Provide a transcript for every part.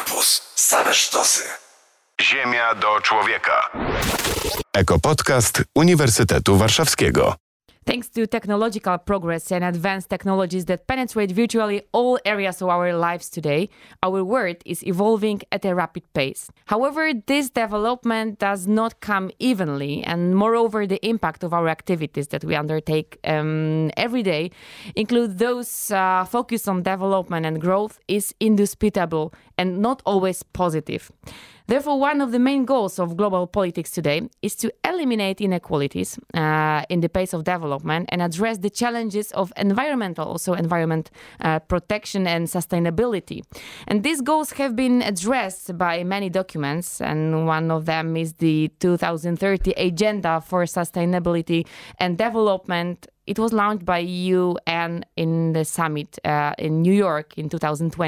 Campus. Same sztosy. Ziemia do człowieka. Ekopodcast Uniwersytetu Warszawskiego. Thanks to technological progress and advanced technologies that penetrate virtually all areas of our lives today, our world is evolving at a rapid pace. However, this development does not come evenly, and moreover, the impact of our activities that we undertake every day, include those focused on development and growth, is indisputable and not always positive. Therefore, one of the main goals of global politics today is to eliminate inequalities in the pace of development and address the challenges of environment protection and sustainability. And these goals have been addressed by many documents, and one of them is the 2030 Agenda for Sustainability and Development. It was launched by UN in the summit in New York in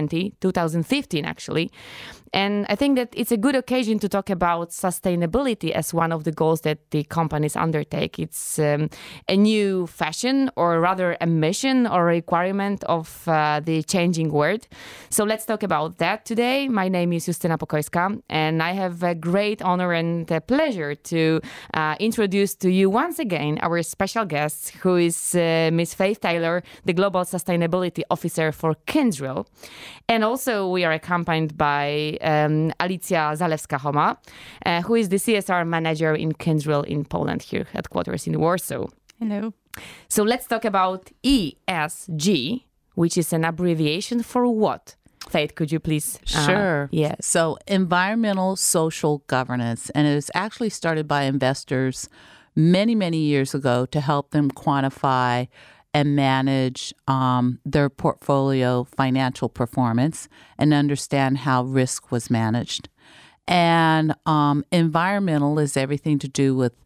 2015 actually. And I think that it's a good occasion to talk about sustainability as one of the goals that the companies undertake. It's a new fashion, or rather a mission or requirement of the changing world. So let's talk about that today. My name is Justyna Pokojska, and I have a great honor and a pleasure to introduce to you once again our special guest, who is Ms. Faith Taylor, the Global Sustainability Officer for Kyndryl. And also we are accompanied by Alicja Zalewska-Homa, who is the CSR manager in Kyndryl in Poland, here headquarters in Warsaw. Hello. So let's talk about ESG, which is an abbreviation for what? Faith, could you please? Sure. Yes. So environmental social governance, and it was actually started by investors many, many years ago to help them quantify and manage their portfolio financial performance and understand how risk was managed. And environmental is everything to do with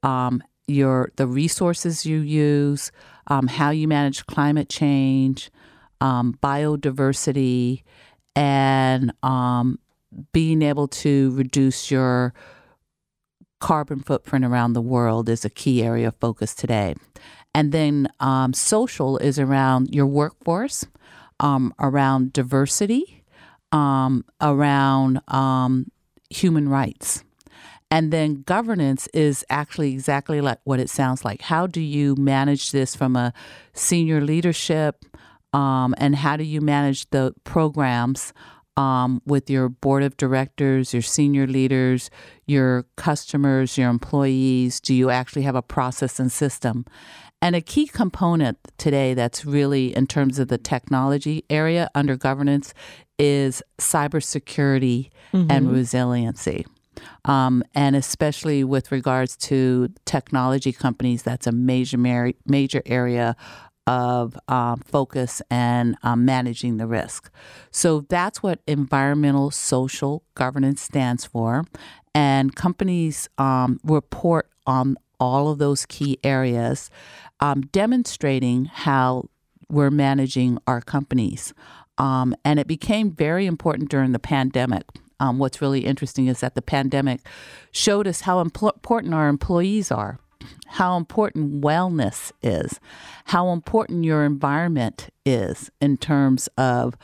the resources you use, how you manage climate change, biodiversity, and being able to reduce your carbon footprint around the world is a key area of focus today. And then social is around your workforce, around diversity, around human rights. And then governance is actually exactly like what it sounds like. How do you manage this from a senior leadership, and how do you manage the programs with your board of directors, your senior leaders, your customers, your employees? Do you actually have a process and system? And a key component today that's really in terms of the technology area under governance is cybersecurity and resiliency. And especially with regards to technology companies, that's a major area of focus and managing the risk. So that's what environmental social governance stands for. And companies report on all of those key areas, demonstrating how we're managing our companies. And it became very important during the pandemic. What's really interesting is that the pandemic showed us how important our employees are, how important wellness is, how important your environment is in terms of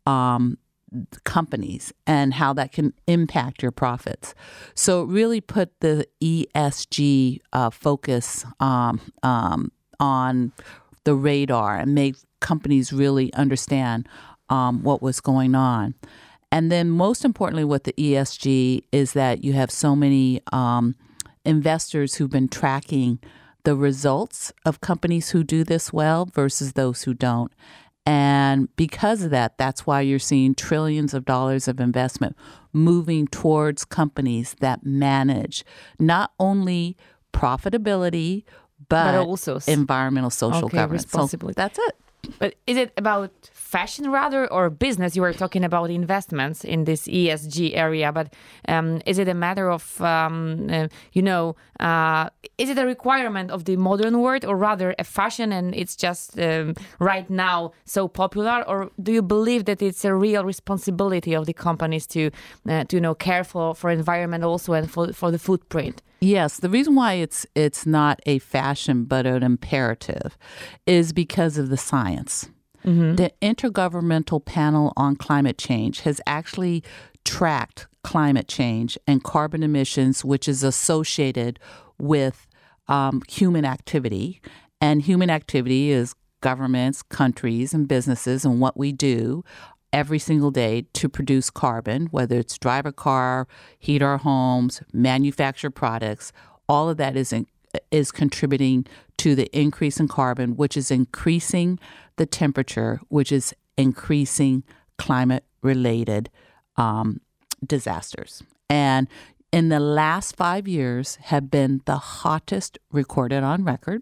companies and how that can impact your profits. So it really put the ESG focus on the radar and made companies really understand what was going on. And then most importantly with the ESG is that you have so many investors who've been tracking the results of companies who do this well versus those who don't. And because of that, that's why you're seeing trillions of dollars of investment moving towards companies that manage not only profitability, but also environmental social governance. Responsibility. So that's it. But is it about fashion rather or business? You were talking about investments in this ESG area, but is it a matter of, is it a requirement of the modern world or rather a fashion and it's just right now so popular? Or do you believe that it's a real responsibility of the companies to care for environment also and for the footprint? Yes, the reason why it's not a fashion but an imperative is because of the science. Mm-hmm. The Intergovernmental Panel on Climate Change has actually tracked climate change and carbon emissions, which is associated with human activity. And human activity is governments, countries, and businesses, and what we do every single day to produce carbon, whether it's drive a car, heat our homes, manufacture products. All of that is contributing to the increase in carbon, which is increasing the temperature, which is increasing climate-related disasters. And in the last 5 years have been the hottest recorded on record.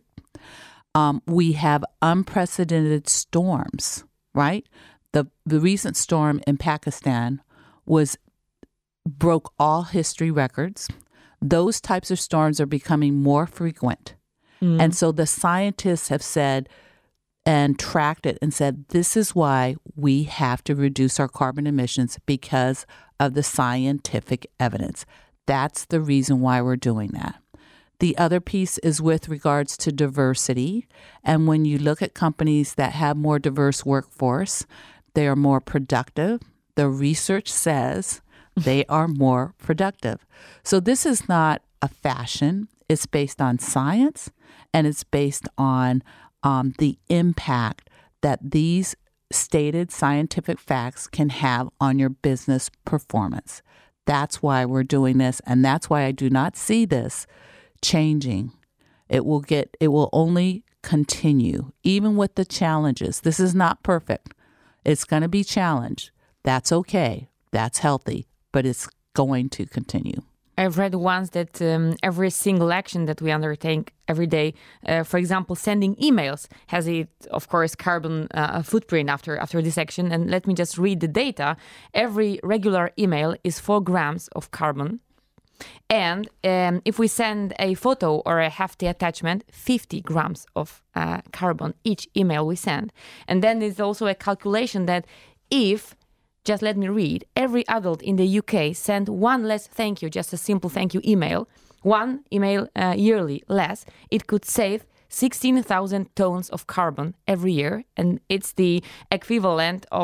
We have unprecedented storms, right? The recent storm in Pakistan broke all history records. Those types of storms are becoming more frequent. And so the scientists have said and tracked it and said, this is why we have to reduce our carbon emissions because of the scientific evidence. That's the reason why we're doing that. The other piece is with regards to diversity. And when you look at companies that have more diverse workforce, they are more productive. The research says they are more productive. So this is not a fashion. It's based on science, and it's based on the impact that these stated scientific facts can have on your business performance. That's why we're doing this, and that's why I do not see this changing. It will only continue, even with the challenges. This is not perfect. It's going to be challenged. That's okay. That's healthy, but it's going to continue. I've read once that every single action that we undertake every day, for example, sending emails, has it, of course, carbon footprint after this action. And let me just read the data. Every regular email is 4 grams of carbon. And if we send a photo or a hefty attachment, 50 grams of carbon each email we send. And then there's also a calculation that if, just let me read, every adult in the UK sent one less thank you, just a simple thank you email, one email yearly less, it could save 16,000 tons of carbon every year, and it's the equivalent of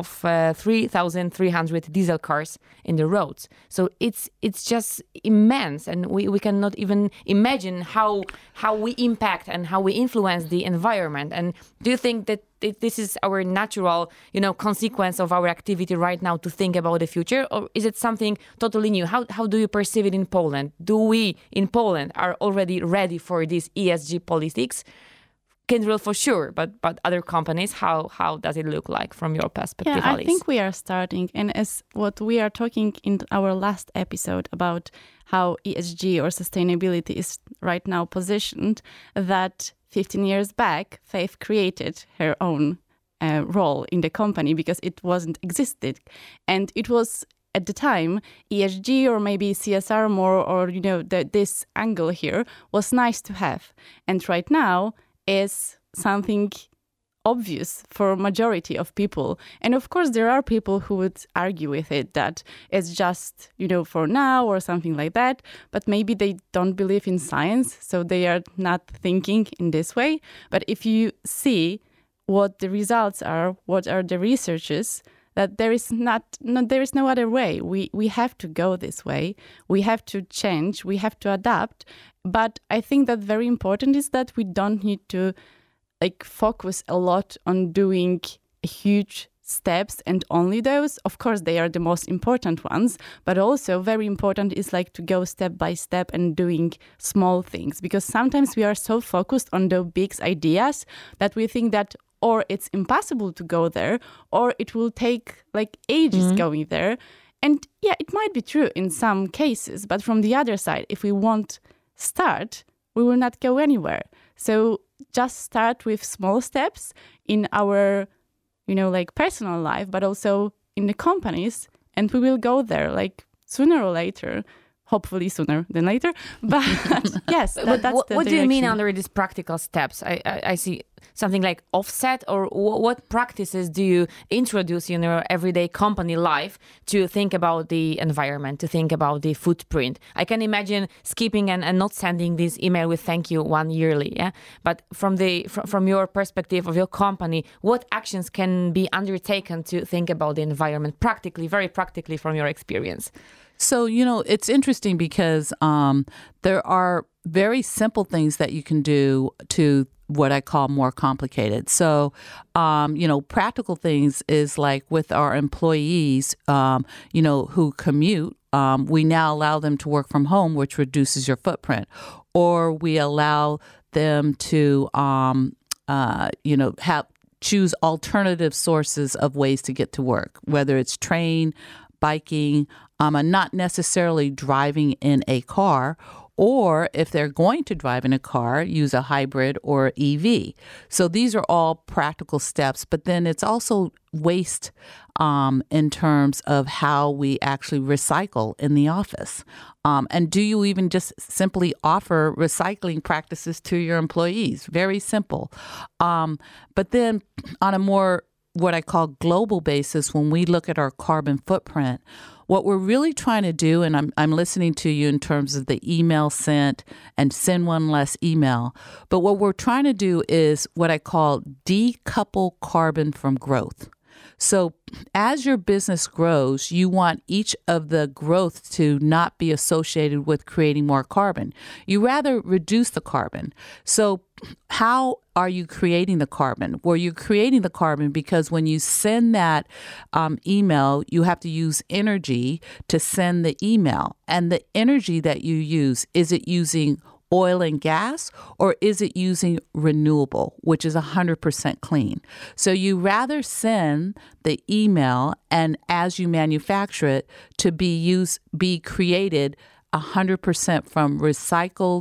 3,300 diesel cars in the roads. So it's just immense, and we cannot even imagine how we impact and how we influence the environment. And do you think that this is our natural, consequence of our activity right now to think about the future, or is it something totally new? How do you perceive it in Poland? Do we in Poland are already ready for this ESG politics? Kyndryl for sure, but other companies, how does it look like from your perspective, Yeah, Alice? I think we are starting, and as what we are talking in our last episode about how ESG or sustainability is right now positioned, that 15 years back, Faith created her own role in the company because it wasn't existed. And it was, at the time, ESG or maybe CSR more, or, this angle here was nice to have. And right now is something obvious for a majority of people. And of course, there are people who would argue with it that it's just, for now or something like that. But maybe they don't believe in science, so they are not thinking in this way. But if you see what the results are, what are the researches, that there is no other way. We have to go this way. We have to change. We have to adapt. But I think that very important is that we don't need to focus a lot on doing huge steps and only those. Of course, they are the most important ones, but also very important is to go step by step and doing small things, because sometimes we are so focused on the big ideas that we think that or it's impossible to go there, or it will take ages going there. And yeah, it might be true in some cases, but from the other side, if we won't start, we will not go anywhere. So just start with small steps in our, personal life, but also in the companies, and we will go there sooner or later. Hopefully sooner than later. But yes, that's the what do you mean direction. under these practical steps? I see something like offset, or what practices do you introduce in your everyday company life to think about the environment, to think about the footprint? I can imagine skipping and not sending this email with thank you one yearly. Yeah, but from your perspective of your company, what actions can be undertaken to think about the environment practically, very practically, from your experience? So, it's interesting because there are very simple things that you can do to what I call more complicated. So, practical things is like with our employees, who commute, we now allow them to work from home, which reduces your footprint. Or we allow them to, choose alternative sources of ways to get to work, whether it's train, biking, and not necessarily driving in a car, or if they're going to drive in a car, use a hybrid or EV. So these are all practical steps, but then it's also waste in terms of how we actually recycle in the office. And do you even just simply offer recycling practices to your employees? Very simple. But then on a more what I call global basis, when we look at our carbon footprint, what we're really trying to do, and I'm listening to you in terms of the email sent and send one less email, but what we're trying to do is what I call decouple carbon from growth. So as your business grows, you want each of the growth to not be associated with creating more carbon. You rather reduce the carbon. So how are you creating the carbon? Well, you're creating the carbon because when you send that email, you have to use energy to send the email. And the energy that you use, is it using oil and gas, or is it using renewable, which is 100% clean? So you rather send the email, and as you manufacture it, to be created 100% from recycled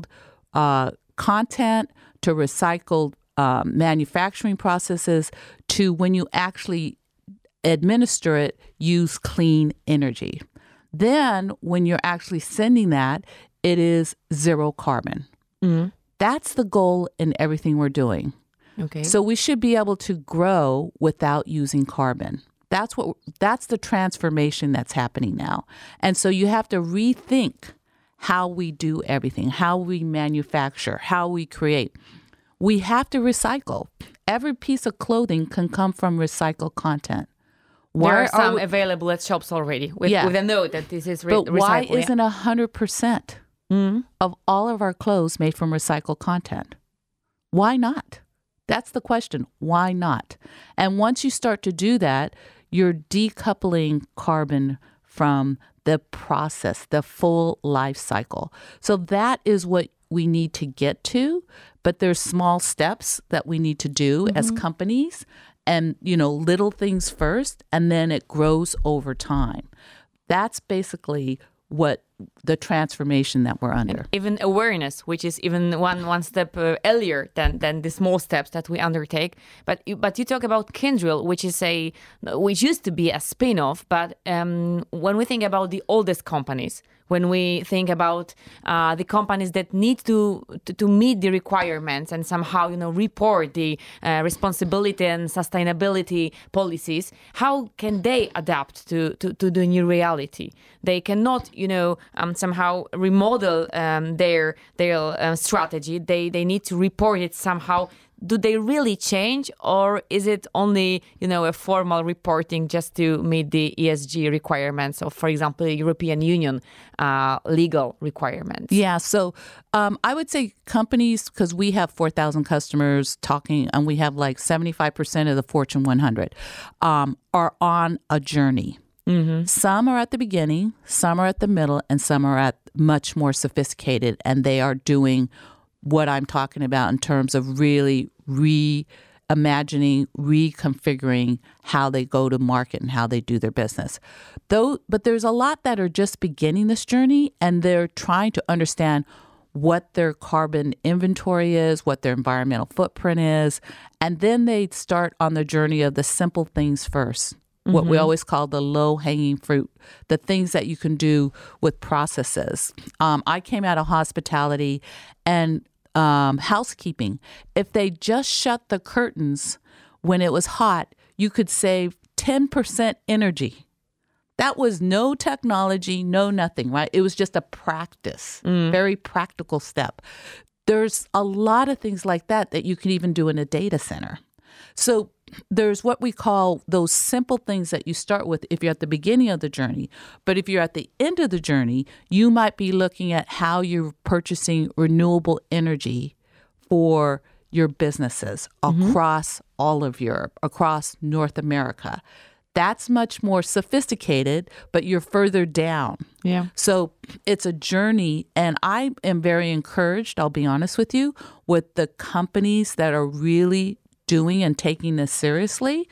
content, to recycled manufacturing processes, to when you actually administer it, use clean energy. Then when you're actually sending that, it is zero carbon. Mm-hmm. That's the goal in everything we're doing. Okay. So we should be able to grow without using carbon. That's the transformation that's happening now. And so you have to rethink how we do everything, how we manufacture, how we create. We have to recycle. Every piece of clothing can come from recycled content. There are some available at shops already with a note that this is recycled. But why isn't 100% of all of our clothes made from recycled content? Why not? That's the question. Why not? And once you start to do that, you're decoupling carbon from the process, the full life cycle. So that is what we need to get to. But there's small steps that we need to do as companies. And, little things first, and then it grows over time. That's basically what the transformation that we're under. And even awareness, which is even one step earlier than the small steps that we undertake. But you talk about Kyndryl, which used to be a spin-off. But when we think about the oldest companies, when we think about the companies that need to meet the requirements and somehow report the responsibility and sustainability policies, how can they adapt to the new reality? They cannot somehow remodel their strategy. They need to report it somehow. Do they really change, or is it only a formal reporting just to meet the ESG requirements of, for example, the European Union legal requirements? Yeah, so I would say companies, because we have 4,000 customers talking, and we have like 75% of the Fortune 100, are on a journey. Mm-hmm. Some are at the beginning, some are at the middle, and some are at much more sophisticated, and they are doing what I'm talking about in terms of really reimagining, reconfiguring how they go to market and how they do their business. But there's a lot that are just beginning this journey, and they're trying to understand what their carbon inventory is, what their environmental footprint is, and then they start on the journey of the simple things first. What we always call the low-hanging fruit, the things that you can do with processes. I came out of hospitality, and housekeeping. If they just shut the curtains when it was hot, you could save 10% energy. That was no technology, no nothing, right? It was just a practice, very practical step. There's a lot of things like that you can even do in a data center. So there's what we call those simple things that you start with if you're at the beginning of the journey. But if you're at the end of the journey, you might be looking at how you're purchasing renewable energy for your businesses across all of Europe, across North America. That's much more sophisticated, but you're further down. Yeah. So it's a journey, and I am very encouraged, I'll be honest with you, with the companies that are really doing and taking this seriously.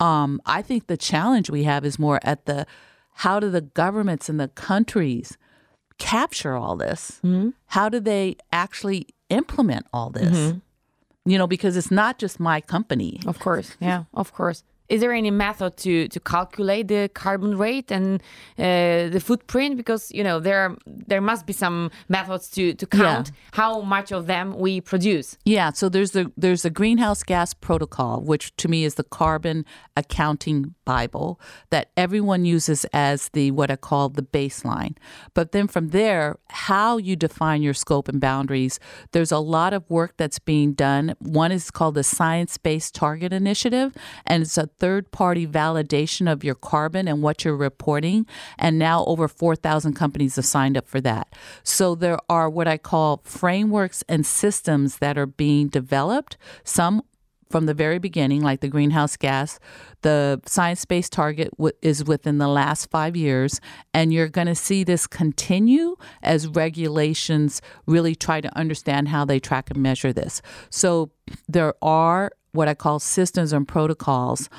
I think the challenge we have is more at how do the governments and the countries capture all this? How do they actually implement all this? Because it's not just my company. Of course. Yeah, of course. Is there any method to calculate the carbon rate and the footprint? Because, there must be some methods to count how much of them we produce. Yeah, so there's the Greenhouse Gas Protocol, which to me is the carbon accounting Bible that everyone uses as what I call the baseline. But then from there, how you define your scope and boundaries, there's a lot of work that's being done. One is called the Science-Based Target Initiative, and it's a third-party validation of your carbon and what you're reporting. And now over 4,000 companies have signed up for that. So there are what I call frameworks and systems that are being developed, some from the very beginning, like the greenhouse gas. The science-based target is within the last 5 years, and you're going to see this continue as regulations really try to understand how they track and measure this. So there are what I call systems and protocols,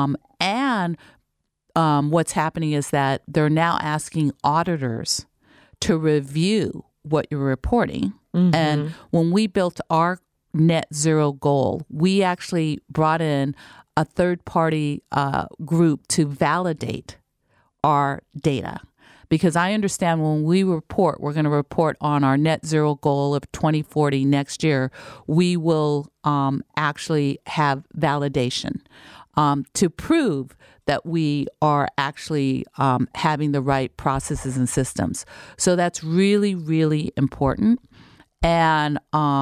and what's happening is that they're now asking auditors to review what you're reporting. And when we built our net zero goal, we actually brought in a third-party group to validate our data. Because I understand when we report, we're going to report on our net zero goal of 2040 next year, we will actually have validation to prove that we are actually having the right processes and systems. So that's really, really important. And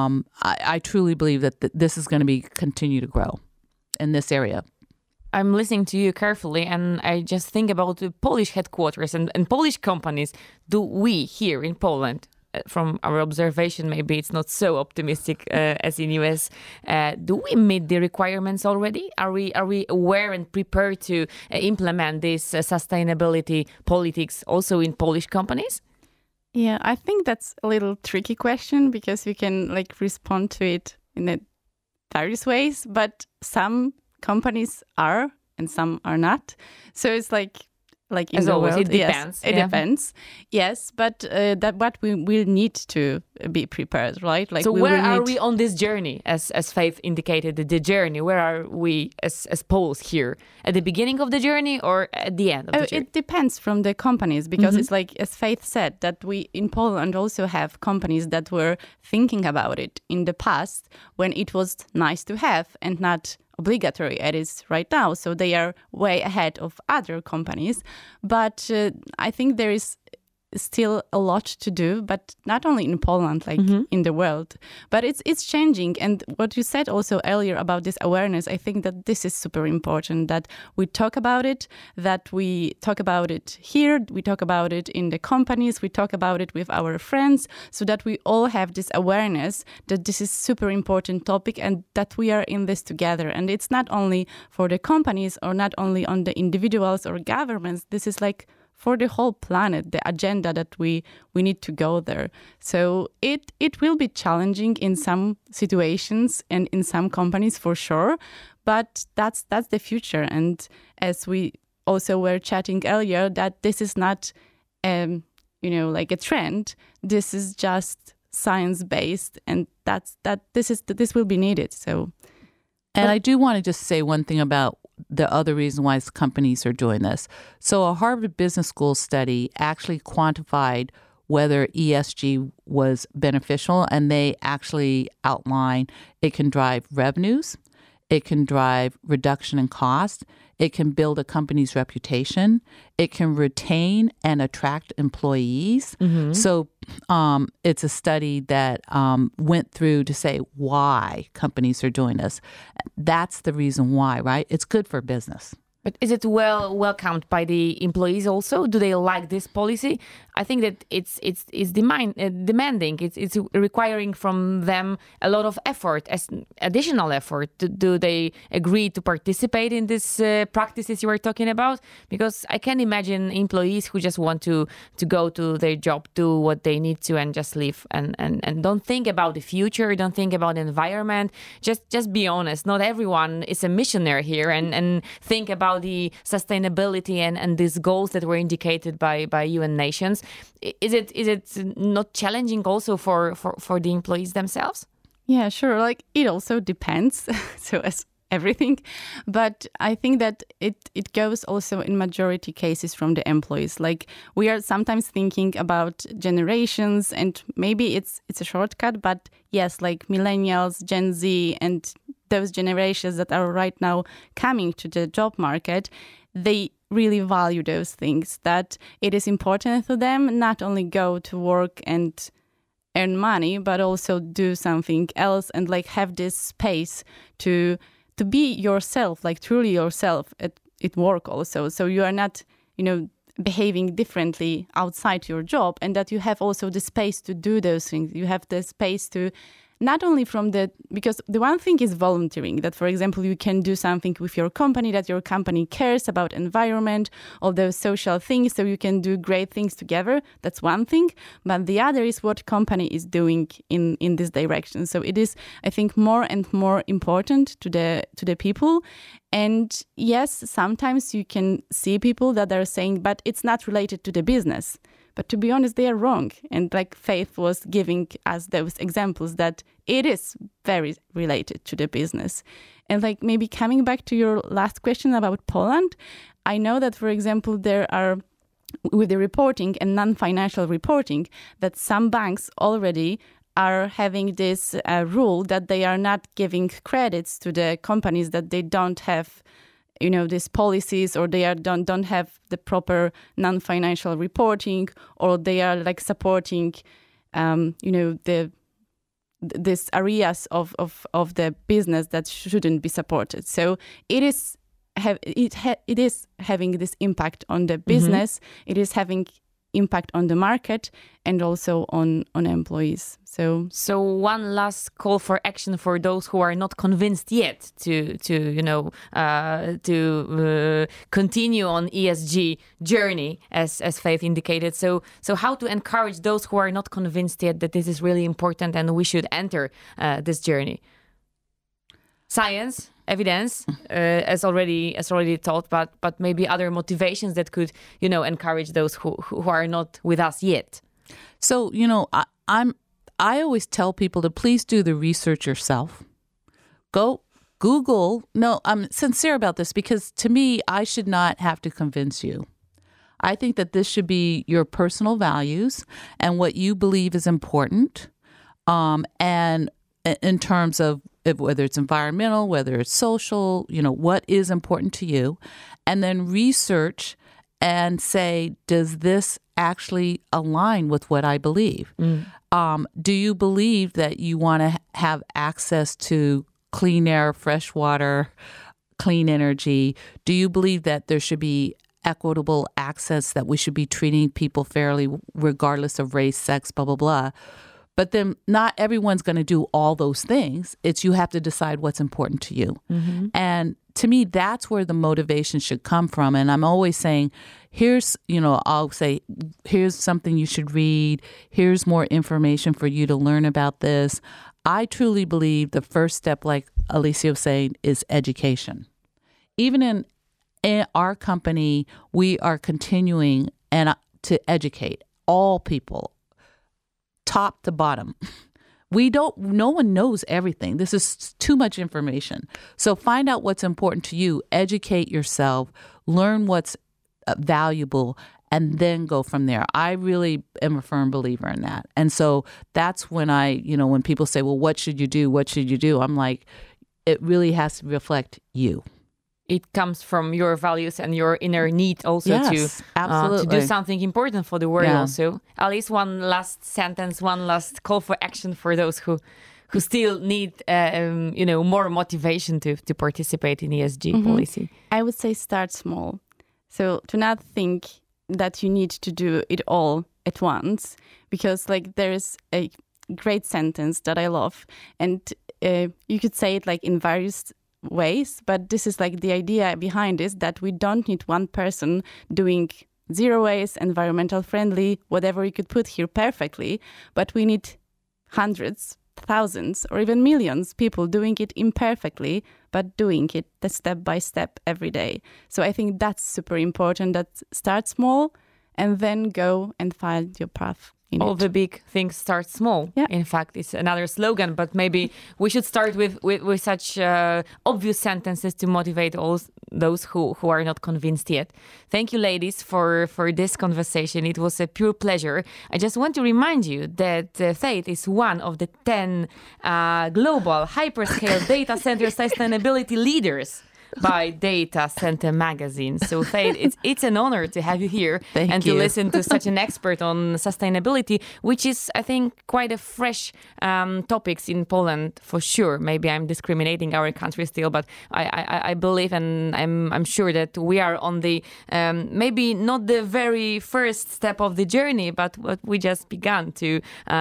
I truly believe that this is going to continue to grow in this area. I'm listening to you carefully, and I just think about the Polish headquarters and Polish companies. Do we here in Poland, from our observation, maybe it's not so optimistic as in US, do we meet the requirements already? Are we aware and prepared to implement this sustainability politics also in Polish companies? Yeah, I think that's a little tricky question because we can respond to it in various ways, but some companies are and some are not. So it's like in as the always, world, it depends. Yes, it depends. Yes, but what we will need to be prepared, right? So where are we on this journey? As Faith indicated, the journey. Where are we as Poles here? At the beginning of the journey or at the end of the journey? It depends from the companies because it's like, as Faith said, that we in Poland also have companies that were thinking about it in the past when it was nice to have and not obligatory as it is right now. So they are way ahead of other companies. But I think there is still a lot to do, but not only in Poland, in the world. But it's changing. And what you said also earlier about this awareness, I think that this is super important, that we talk about it, that we talk about it here, we talk about it in the companies, we talk about it with our friends, so that we all have this awareness that this is super important topic and that we are in this together. And it's not only for the companies or not only on the individuals or governments, this is for the whole planet, the agenda that we need to go there. So it will be challenging in some situations and in some companies for sure, but that's the future. And as we also were chatting earlier, that this is not a trend. This is just science-based, and this will be needed. So, and I do want to just say one thing about the other reason why companies are doing this. So a Harvard Business School study actually quantified whether ESG was beneficial, and they actually outline it can drive revenues, it can drive reduction in cost, it can build a company's reputation, it can retain and attract employees. So it's a study that went through to say why companies are doing this. That's the reason why, right? It's good for business. But is it welcomed by the employees also? Do they like this policy? I think that it's demanding. It's requiring from them a lot of effort, additional effort. Do they agree to participate in these practices you were talking about? Because I can imagine employees who just want to go to their job, do what they need to, and just leave and don't think about the future, don't think about the environment. Just be honest. Not everyone is a missionary here and think about the sustainability and these goals that were indicated by UN nations. Is it not challenging also for the employees themselves? Yeah, sure. Like, it also depends. So as everything, but I think that it goes also in majority cases from the employees. Like, we are sometimes thinking about generations, and maybe it's a shortcut, but yes, like millennials, Gen Z, and those generations that are right now coming to the job market, they really value those things, that it is important to them not only go to work and earn money, but also do something else and like have this space to be yourself, like truly yourself at work also. So you are not, behaving differently outside your job, and that you have also the space to do those things. You have the space to not only because the one thing is volunteering, that, for example, you can do something with your company, that your company cares about environment, all those social things, so you can do great things together. That's one thing. But the other is what company is doing in this direction. So it is, I think, more and more important to the people. And yes, sometimes you can see people that are saying, but it's not related to the business. But to be honest, they are wrong. And like Faith was giving us those examples that it is very related to the business. And like maybe coming back to your last question about Poland, I know that, for example, there are, with the reporting and non-financial reporting, that some banks already are having this rule that they are not giving credits to the companies that they don't have these policies, or they don't have the proper non-financial reporting, or they are like supporting, these areas of the business that shouldn't be supported. So it is having this impact on the business. It is having impact on the market and also on employees. So one last call for action for those who are not convinced yet to continue on ESG journey, as Faith indicated. So how to encourage those who are not convinced yet that this is really important and we should enter this journey? Science, evidence, as already taught, but maybe other motivations that could encourage those who are not with us yet. So I always tell people to please do the research yourself. Go Google. No, I'm sincere about this, because to me, I should not have to convince you. I think that this should be your personal values and what you believe is important. And in terms of whether it's environmental, whether it's social, what is important to you, and then research and say, does this actually align with what I believe? Do you believe that you want to have access to clean air, fresh water, clean energy? Do you believe that there should be equitable access, that we should be treating people fairly regardless of race, sex, blah, blah, blah? But then not everyone's going to do all those things. It's you have to decide what's important to you. And to me, that's where the motivation should come from. And I'm always saying, I'll say, here's something you should read. Here's more information for you to learn about this. I truly believe the first step, like Alicia was saying, is education. Even in our company, we are continuing to educate all people, top to bottom. No one knows everything. This is too much information. So find out what's important to you, educate yourself, learn what's valuable, and then go from there. I really am a firm believer in that. And so that's when when people say, well, what should you do? What should you do? I'm like, it really has to reflect you. It comes from your values and your inner need also absolutely. to do something important for the world also. Alice, one last sentence, one last call for action for those who still need more motivation to participate in ESG policy. I would say start small. So to not think that you need to do it all at once, because there is a great sentence that I love, and you could say it in various ways, but this is the idea behind this, that we don't need one person doing zero waste, environmental friendly, whatever you could put here perfectly, but we need hundreds, thousands, or even millions people doing it imperfectly, but doing it step by step every day. So I think that's super important, that start small and then go and find your path. All the big things start small. Yeah. In fact, it's another slogan, but maybe we should start with such obvious sentences to motivate all those who are not convinced yet. Thank you, ladies, for this conversation. It was a pure pleasure. I just want to remind you that Faith is one of the 10 global hyperscale data center sustainability leaders by Data Center Magazine. So Faith, it's an honor to have you here to listen to such an expert on sustainability, which is, I think, quite a fresh topics in Poland for sure. Maybe I'm discriminating our country still, but I believe and I'm sure that we are on the maybe not the very first step of the journey, but what we just began to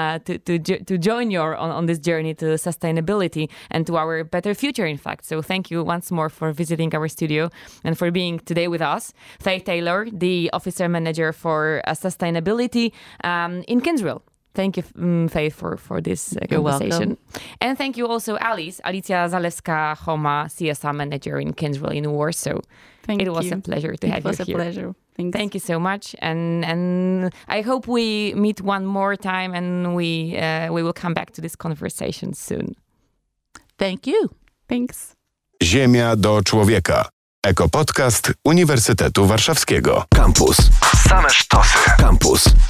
join you on this journey to sustainability and to our better future, in fact. So thank you once more for visiting our studio and for being today with us. Faith Taylor, the Officer Manager for Sustainability in Kyndryl. Thank you, Faith, for this conversation. Welcome. And thank you also, Alicja Zalewska-Homa, CSR Manager in Kyndryl in Warsaw. It was a pleasure to have you here. It was a pleasure. Thanks. Thank you so much. And I hope we meet one more time and we will come back to this conversation soon. Thank you. Thanks. Ziemia do człowieka. Ekopodcast Uniwersytetu Warszawskiego. Campus. Same sztosy. Campus.